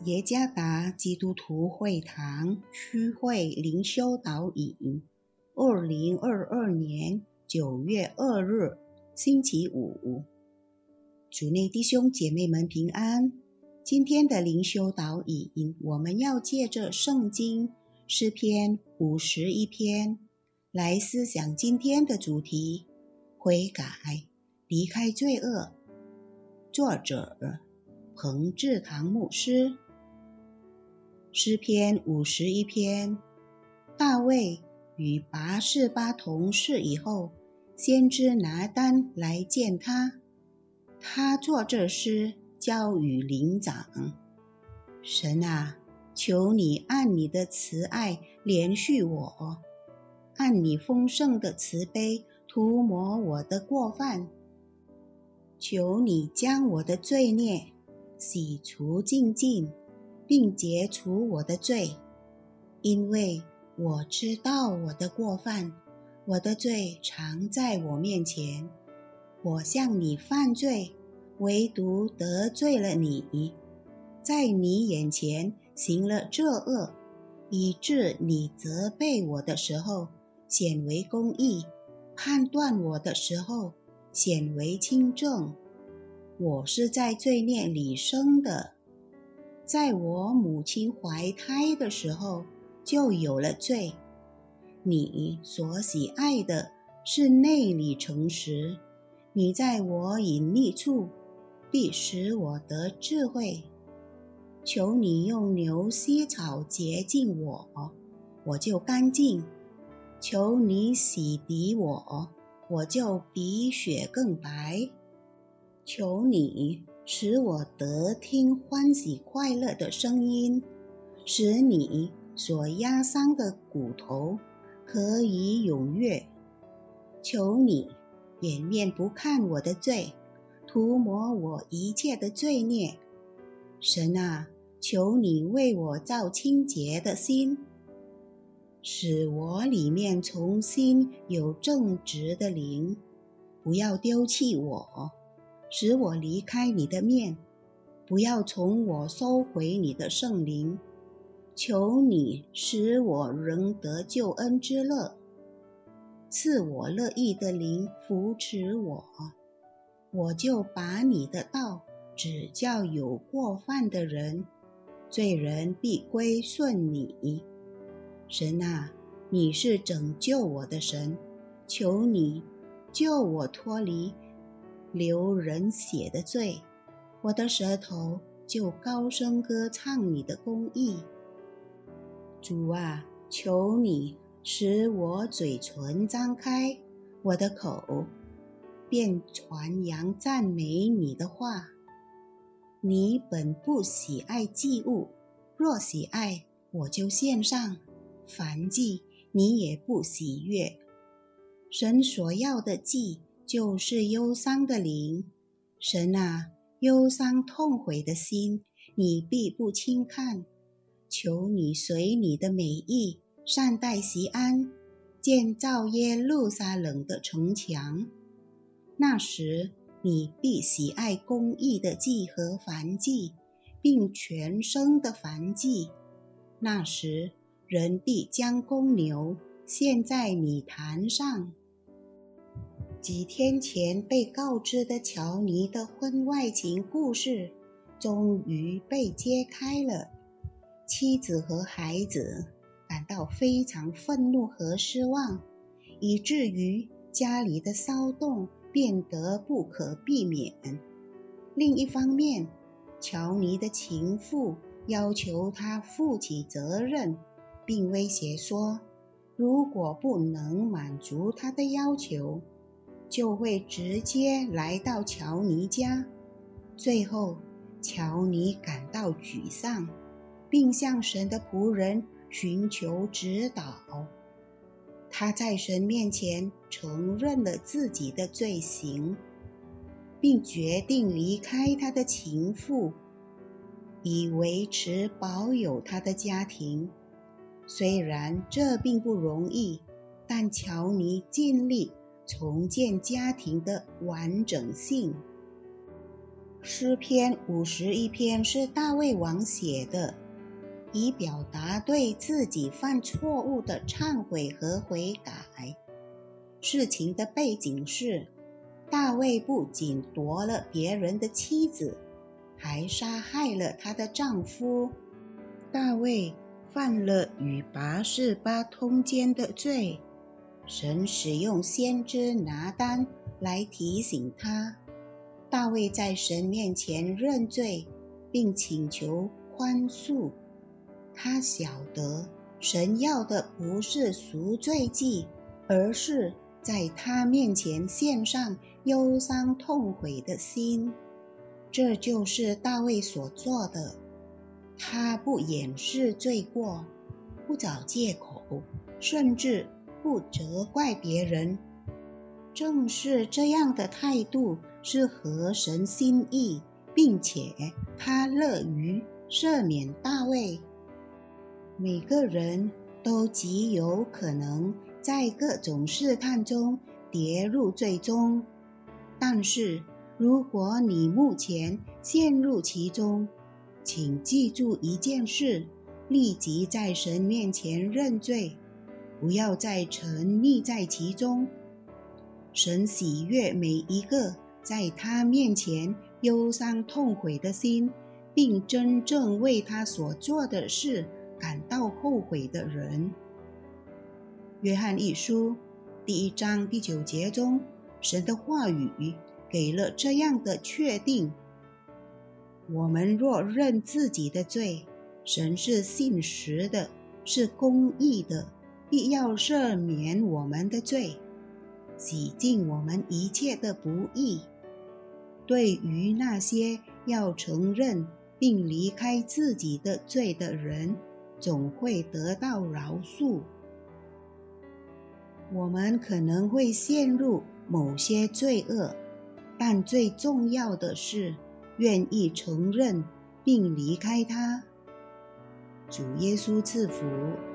耶加达基督徒会堂区会灵修导引，2022年9月2日，星期五。主内弟兄姐妹们平安。今天的灵修导引，我们要借着圣经诗篇51篇来思想今天的主题：悔改，离开罪恶。作者彭志堂牧师。诗篇51篇，大卫与拔示巴同事以后，先知拿单来见他，他作这诗交与灵长。神啊，求你按你的慈爱怜恤我，按你丰盛的慈悲涂抹我的过犯。求你将我的罪孽洗除净尽，并解除我的罪，因为我知道我的过犯，我的罪常在我面前。我向你犯罪，唯独得罪了你，在你眼前行了这恶，以致你责备我的时候显为公义，判断我的时候显为清正。我是在罪孽里生的，在我母亲怀胎的时候就有了罪。你所喜爱的是内里诚实，你在我隐秘处必使我得智慧。求你用牛膝草洁净我，我就干净；求你洗涤我，我就比雪更白。求你使我得听欢喜快乐的声音，使你所压伤的骨头可以踊跃。求你掩面不看我的罪，涂抹我一切的罪孽。神啊，求你为我造清洁的心，使我里面重新有正直的灵。不要丢弃我，使我离开你的面，不要从我收回你的圣灵。求你使我仍得救恩之乐，赐我乐意的灵扶持我，我就把你的道指教有过犯的人，罪人必归顺你。神啊，你是拯救我的神，求你救我脱离流人血的罪，我的舌头就高声歌唱你的公义。主啊，求你使我嘴唇张开，我的口便传扬赞美你的话。你本不喜爱祭物，若喜爱，我就献上；燔祭你也不喜悦。神所要的祭就是忧伤的灵。神啊，忧伤痛悔的心你必不轻看。求你随你的美意善待锡安，建造耶路撒冷的城墙。那时你必喜爱公义的祭和燔祭，并全牲的燔祭。那时人必将公牛献在你坛上。几天前被告知的乔尼的婚外情故事终于被揭开了。妻子和孩子感到非常愤怒和失望，以至于家里的骚动变得不可避免。另一方面，乔尼的情妇要求他负起责任，并威胁说，如果不能满足他的要求，就会直接来到乔尼家。最后，乔尼感到沮丧，并向神的仆人寻求指导。他在神面前承认了自己的罪行，并决定离开他的情妇，以维持保有他的家庭。虽然这并不容易，但乔尼尽力重建家庭的完整性。 诗篇51篇是大卫王写的，以表达对自己犯错误的忏悔和悔改。事情的背景是，大卫不仅夺了别人的妻子，还杀害了她的丈夫。大卫犯了与拔示巴通奸的罪，神使用先知拿单来提醒他。大卫在神面前认罪，并请求宽恕。他晓得神要的不是赎罪祭，而是在他面前献上忧伤痛悔的心。这就是大卫所做的。他不掩饰罪过，不找借口，甚至不责怪别人。正是这样的态度是合神心意，并且他乐于赦免大卫。每个人都极有可能在各种试探中跌入罪中，但是如果你目前陷入其中，请记住一件事，立即在神面前认罪，不要再沉溺在其中。神喜悦每一个在他面前忧伤痛悔的心，并真正为他所做的事感到后悔的人。约翰一书第1章第9节中，神的话语给了这样的确定：我们若认自己的罪，神是信实的，是公义的，必要赦免我们的罪，洗净我们一切的不义。对于那些要承认并离开自己的罪的人，总会得到饶恕。我们可能会陷入某些罪恶，但最重要的是愿意承认并离开它。主耶稣赐福。